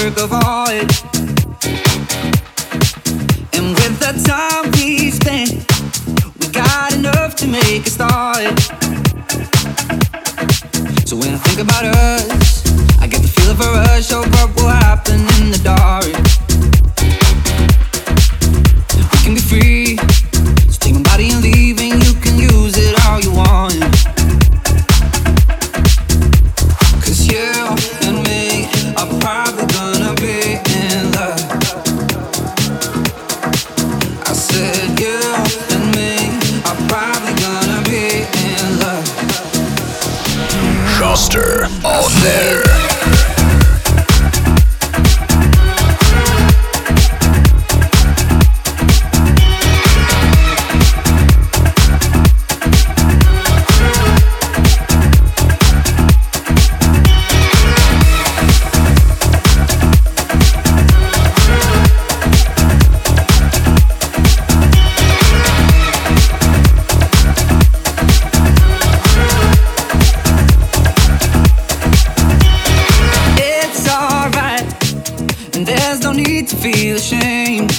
work of art. And with the time we spent, we got enough to make a start. So when I think about us, I get the feel of a rush of what will happen in the dark. We can be free, so take my body and leave, and you can use it all you want. Cause you and me are probably gonna be in love. I said you and me are probably gonna be in love. Schuster on there. To feel ashamed,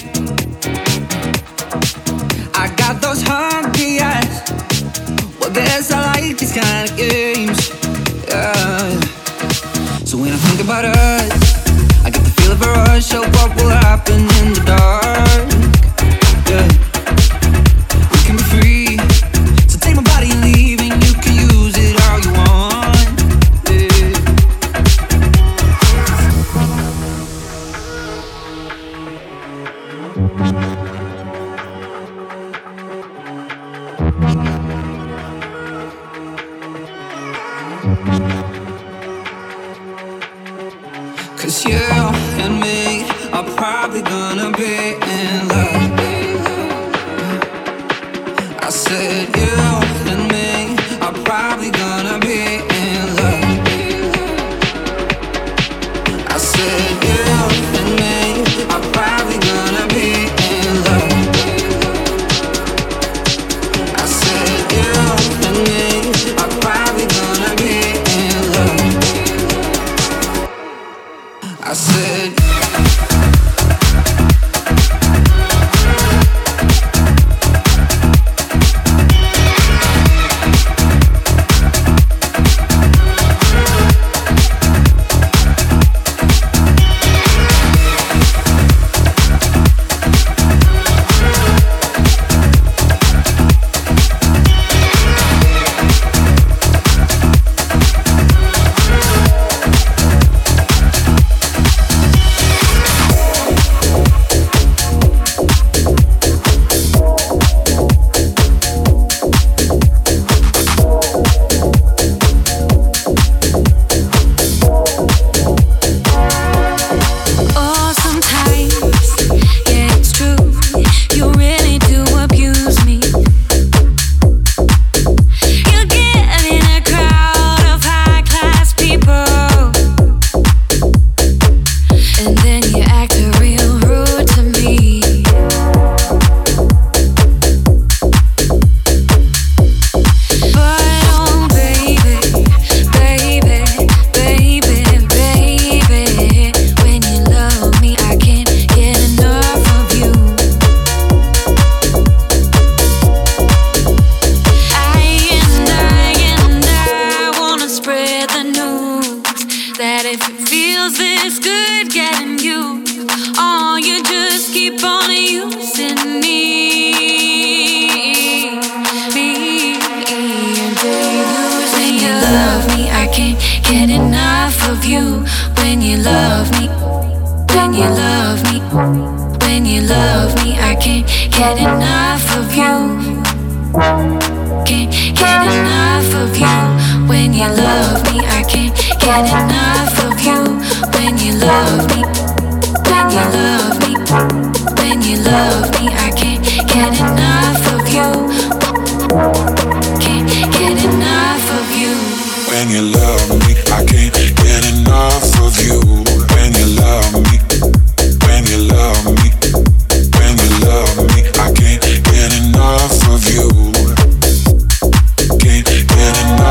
I got those hungry eyes. Well, guess I like these kind of games. Yeah. So when I think about us, I get the feel of a rush of what will happen in the dark. Yeah. We can be free, so take my body and leave, and you can use it all you want. Yeah. Cause you and me are probably gonna be in love. I said you and me are probably gonna be in love. I said you and me are probably gonna be in love. I said you and me are probably gonna be in love. I said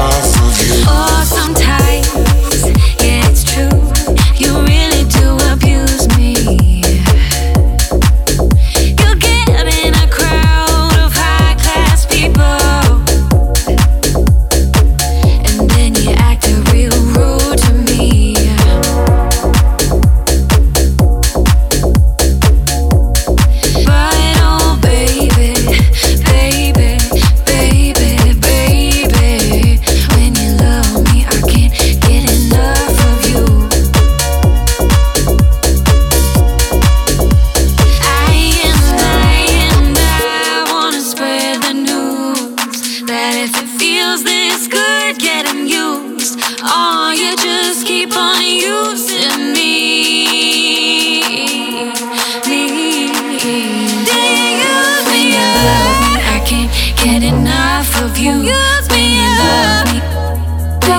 Oh, sometimes, yeah, it's true. You really do abuse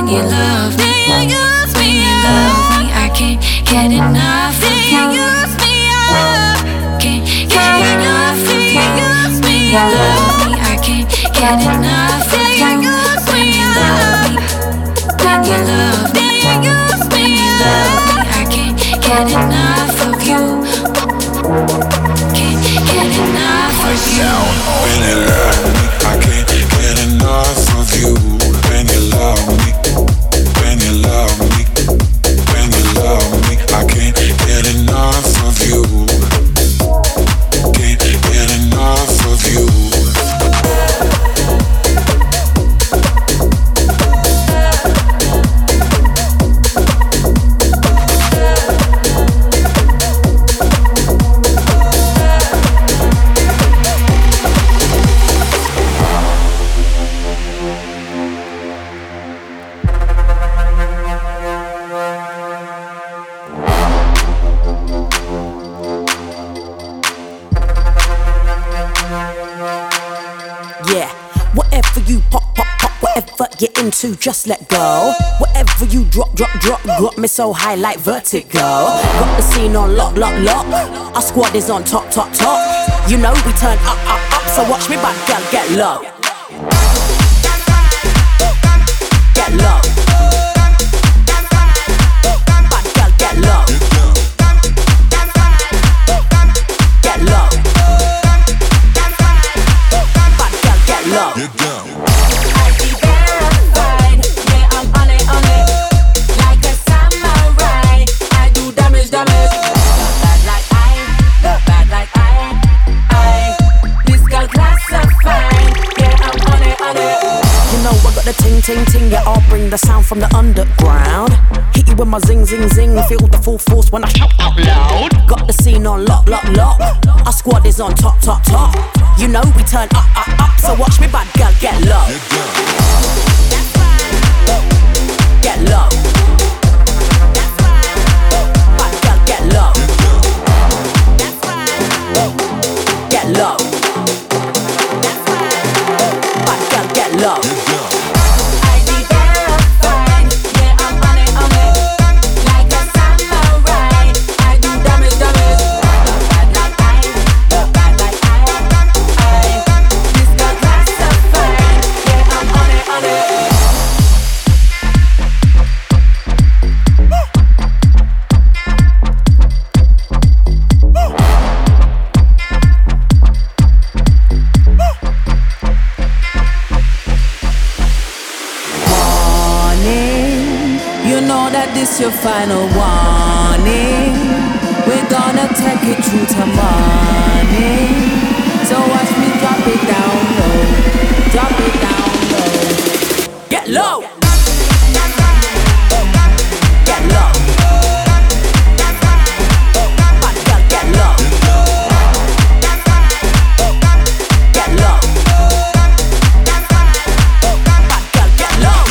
when you love me, when you love me, I can't get enough of you. Use me up, can't get enough of you. Use me, you love me, I can't get enough of you. Use me up, when you love me, use me, you love me, I can't get enough of you. Can't get enough of you. When you love me, I can't get enough of you. When you love me, when you love me, when you love me, I can't get enough of you. Can't get enough of you. Get into, just let go. Whatever you drop, got me so high like vertigo. Got the scene on lock. Our squad is on top. You know we turn up. So watch me, bad girl, get low. Get low. Bad girl, get low. Get low. Bad girl, get low. Ting, yeah, I'll bring the sound from the underground. Hit you with my zing, feel the full force when I shout out loud. Got the scene on lock. Our squad is on top. You know we turn up. So watch me, bad girl, get low. Get low. Bad girl, get low. Get low. Bad girl, get low. This your final warning. We're gonna take it through to morning. So watch me drop it down low. Drop it down low. Get low. Get low. Bad girl, get low. Get low. Bad girl, get low.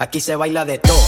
Aquí se baila de todo.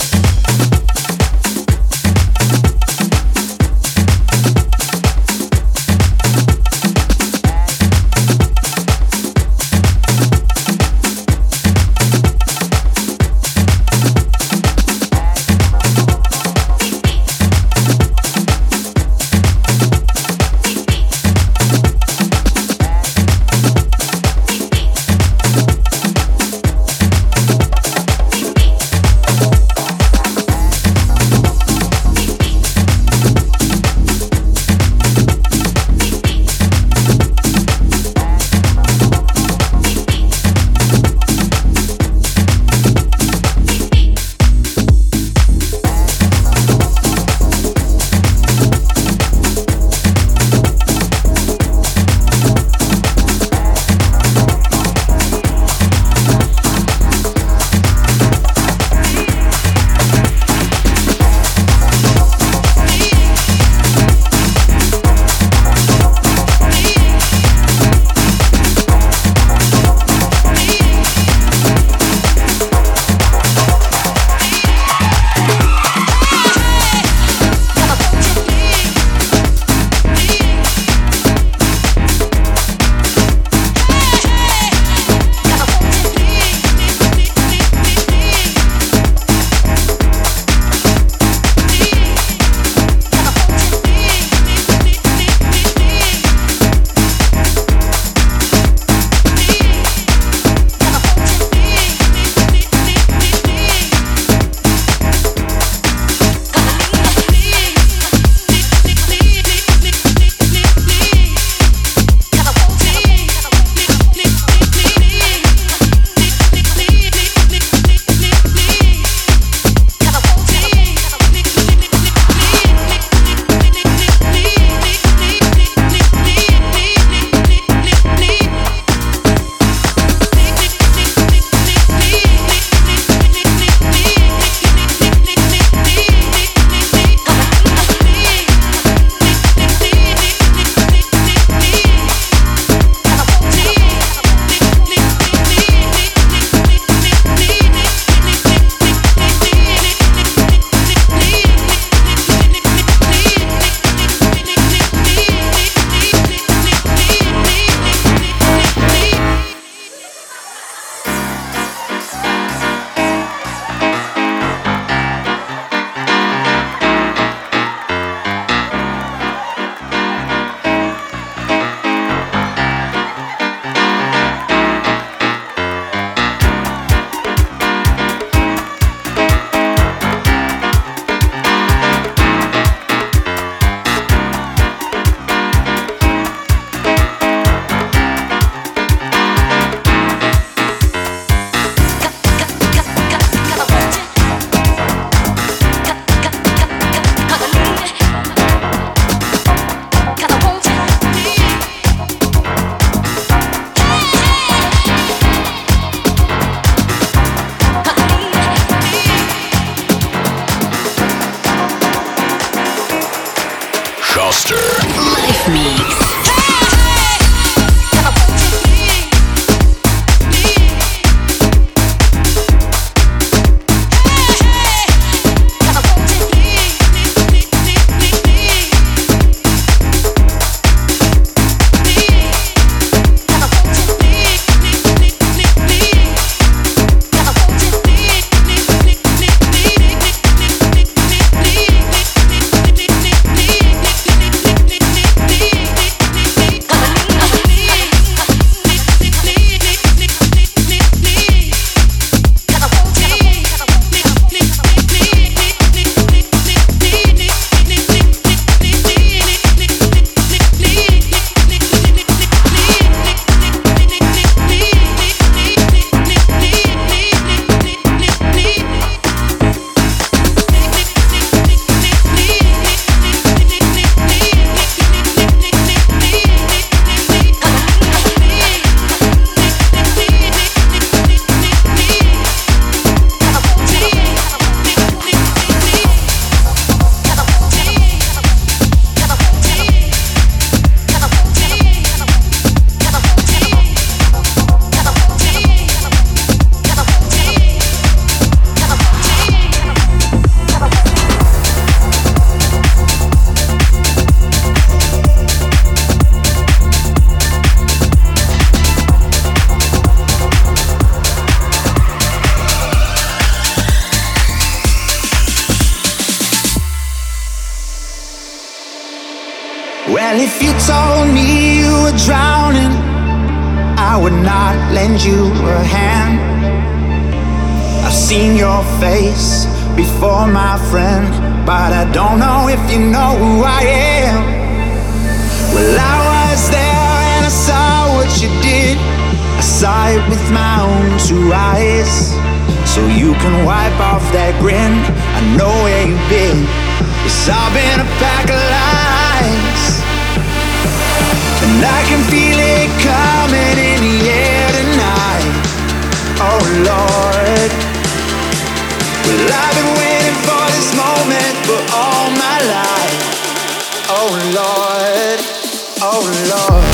Well, if you told me you were drowning, I would not lend you a hand. I've seen your face before, my friend, but I don't know if you know who I am. Well, I was there and I saw what you did. I saw it with my own two eyes. So you can wipe off that grin. I know where you've been. Yes, I've been a pack of lies, and I can feel it coming in the air tonight. Oh Lord, well, I've been waiting for this moment for all my life. Oh Lord, oh Lord.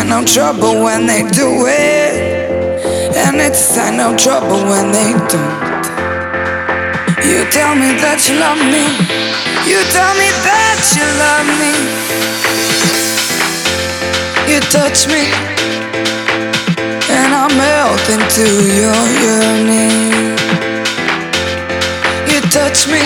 sign of trouble when they do it, and it's a sign of trouble when they don't. You tell me that you love me, you tell me that you love me. You touch me, and I melt into your yearning. You touch me,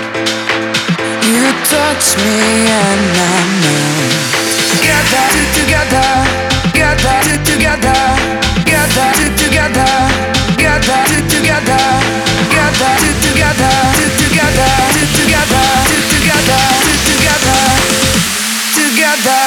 and I melt. Together, together, together, together, together, together, together, together, together, together, together, together, together, together, together,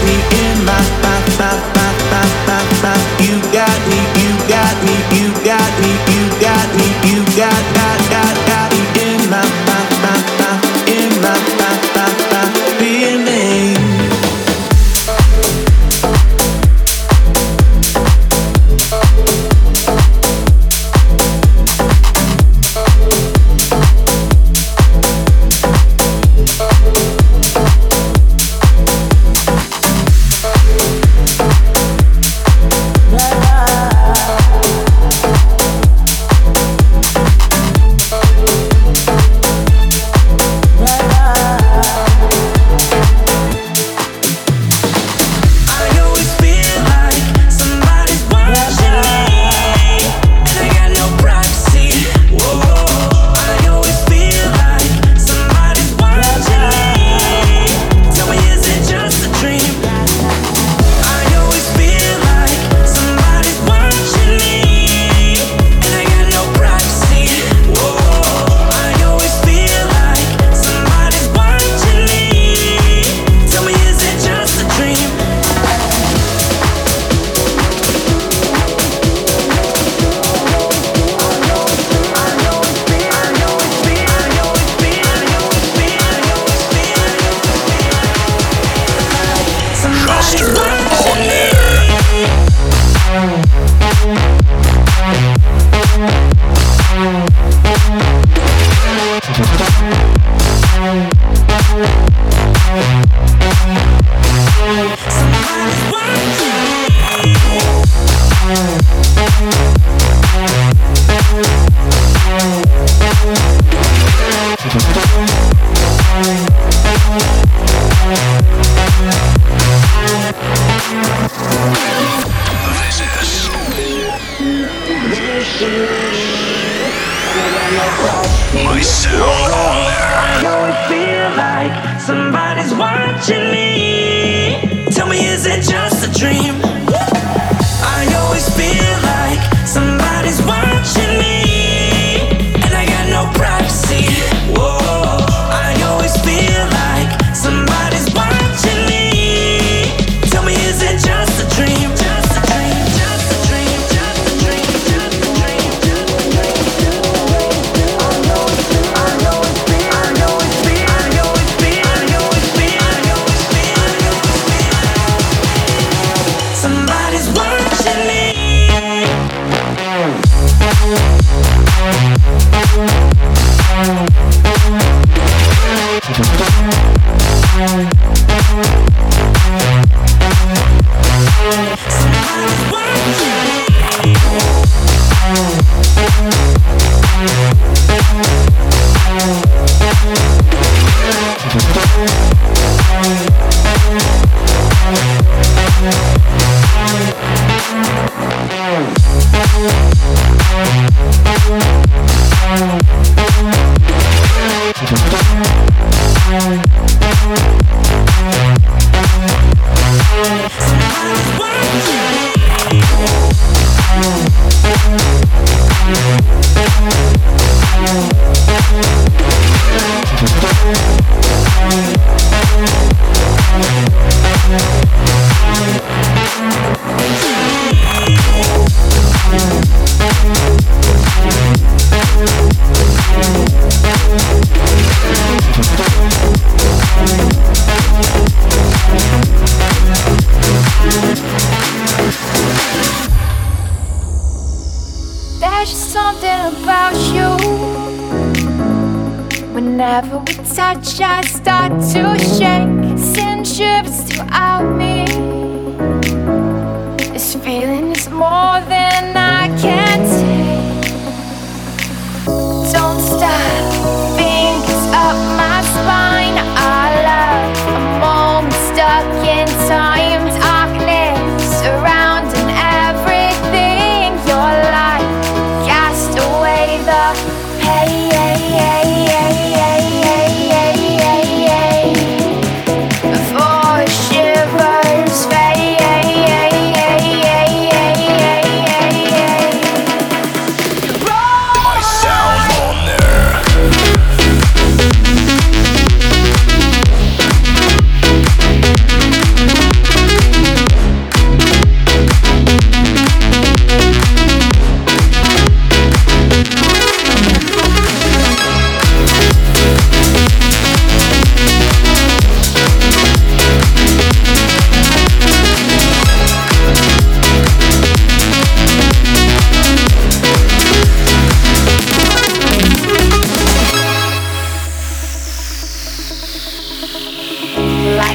me in my, you got me, you got me, you got me, you got me, you got me in my, feeling. I start to shake, send shivers throughout me. This feeling is more than I can take. Don't stop, fingers up my spine. I love a moment stuck in time. Darkness surrounding everything. Your light cast away the pain. Before it shivers.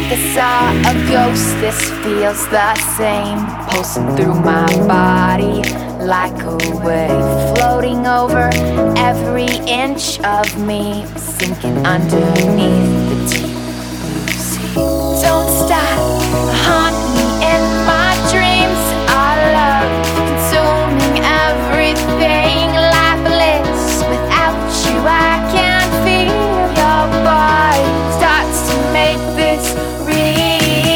I saw a ghost, this feels the same. Pulsing through my body like a wave, floating over every inch of me, sinking underneath the deep blue sea. Don't stop, haunt me in my dreams. Our love consuming everything, lifeless. Without you I can't feel your body. Starts to make this real.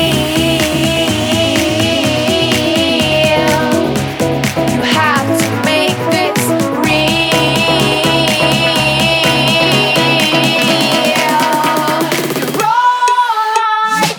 You have to make this real. You're right.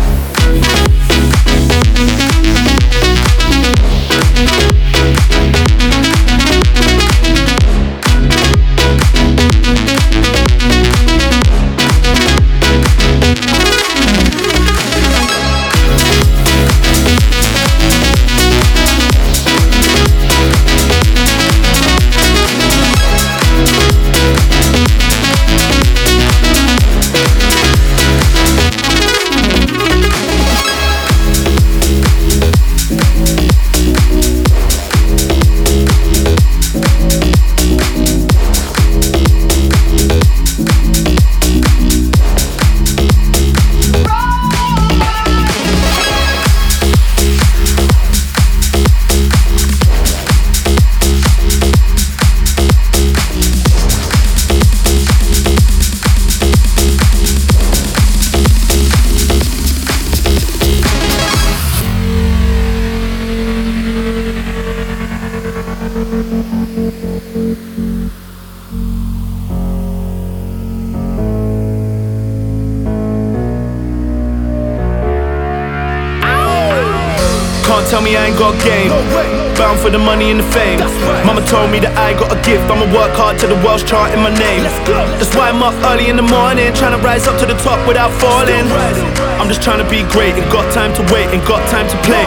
Can't tell me I ain't got game. Bound for the money and the fame. Mama told me that I got a gift. I'ma work hard till the world's charting my name. That's why I'm up early in the morning, trying to rise up to the top without falling. I'm just trying to be great, ain't got time to wait, ain't got time to play.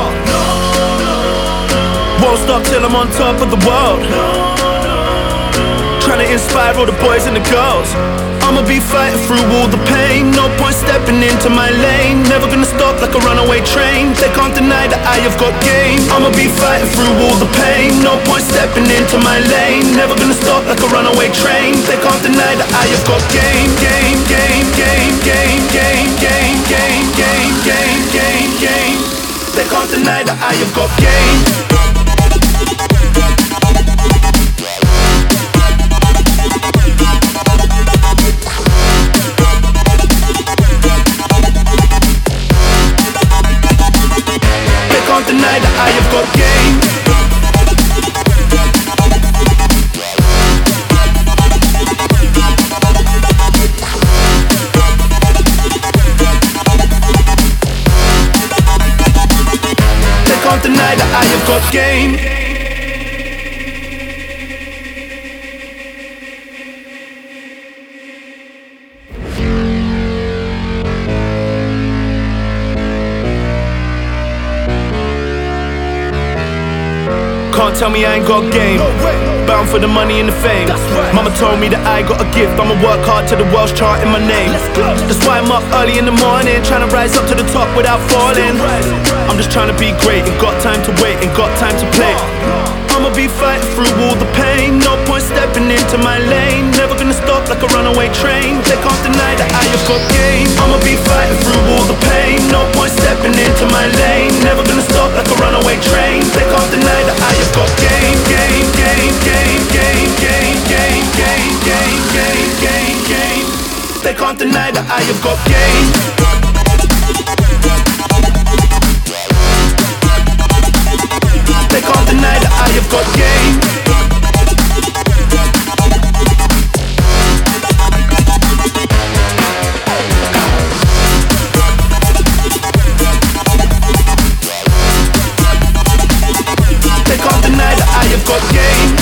Won't stop till I'm on top of the world. Trying to inspire all the boys and the girls. I'ma be fighting through all the pain. No point stepping into my lane. Never gonna stop like a runaway train. They can't deny that I have got game. I'ma be fighting through all the pain. No point stepping into my lane. Never gonna stop like a runaway train. They can't deny that I have got game. Game, game, game, game, game, game, game, game, game, game, game. They can't deny that I have got game. Can't deny that I have got game. They can't deny that I have got game. Can't tell me I ain't got game. Bound for the money and the fame. Mama told me that I got a gift. I'ma work hard till the world's charting my name. That's why I'm up early in the morning, trying to rise up to the top without falling. I'm just trying to be great, ain't got time to wait, ain't got time to play. I'ma be fighting through all the pain. No point stepping into my lane. Never gonna stop like a runaway train. They can't deny that I have got game. I'ma be fighting through all the pain. No point stepping into my lane. Never gonna stop like a runaway train. They can't deny that I have got game. Game, game, game, game, game, game, game, game, game, game, game. They can't deny that I have got game. They can't deny that I have got game. They can't deny that I have got game.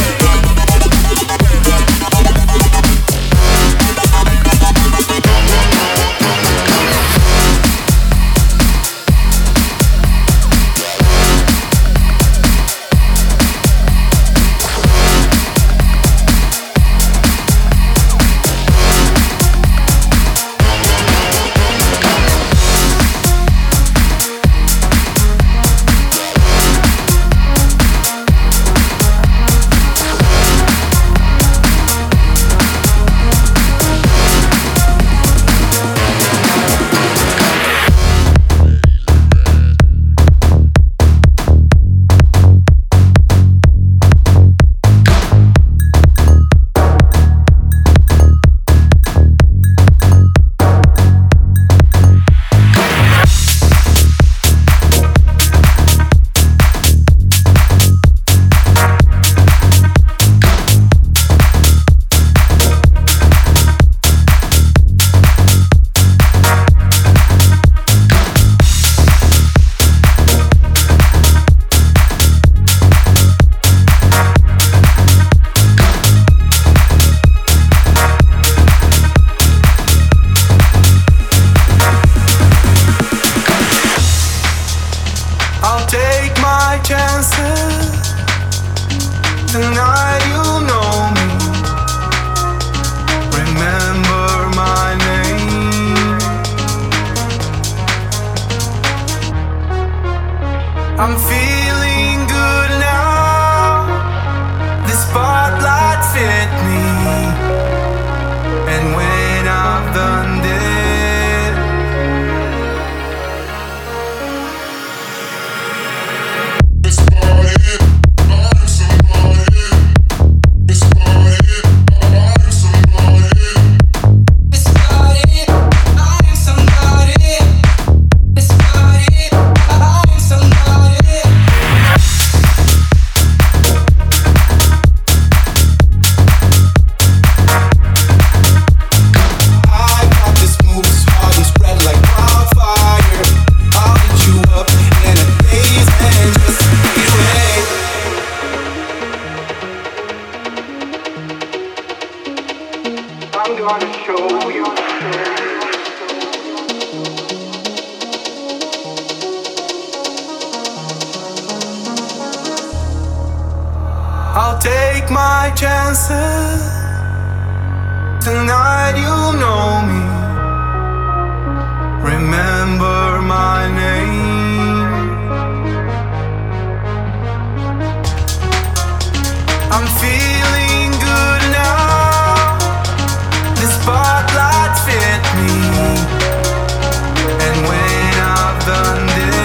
I'm feeling good now. The spotlight fit me, and when I've done this, I'll take my chances. Tonight you know me. Remember my name. I'm feeling good now. The spotlight fit me, and when I've done this,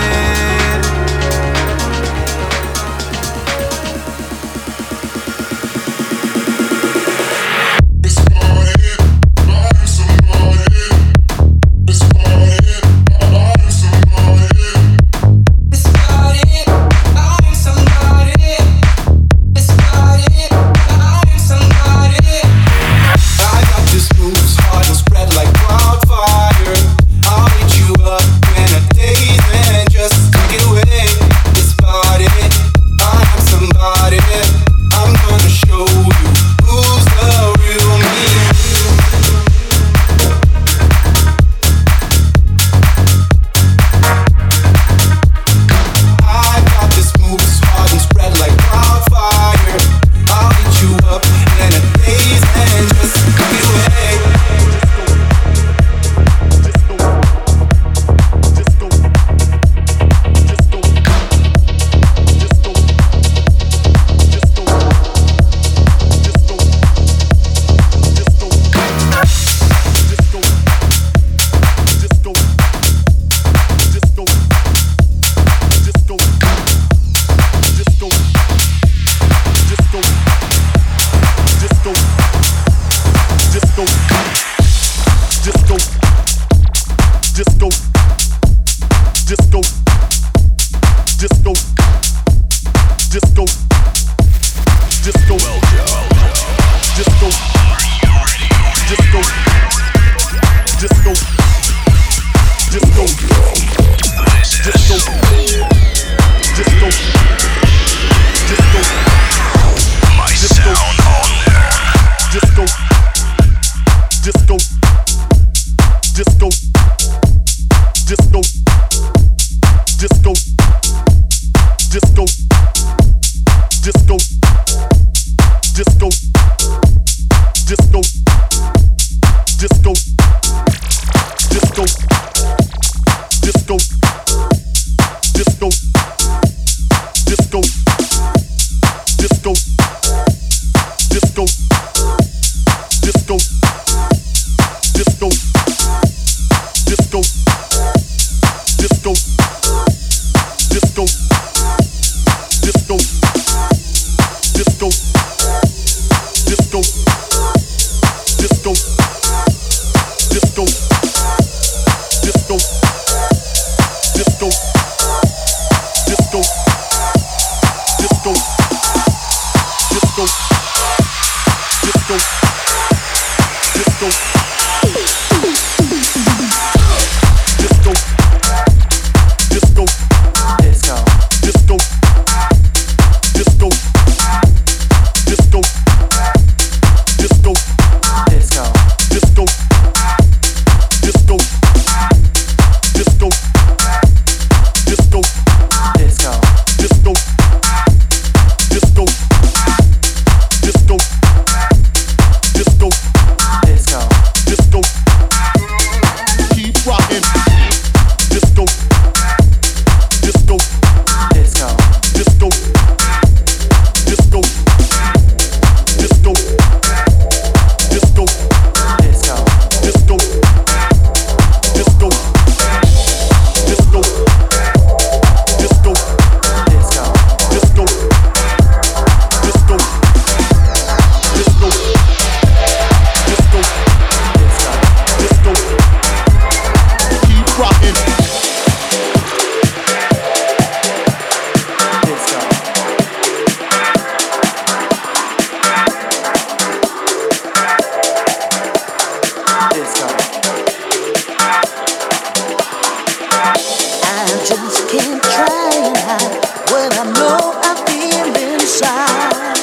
just can't try and hide what I know I feel inside.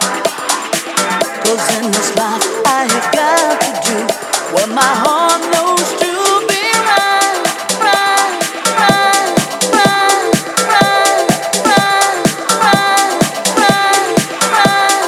'Cause in this life I have got to do what my heart knows to be right, right, right, right, right, right, right, right, right,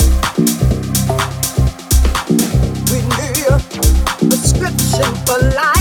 for life.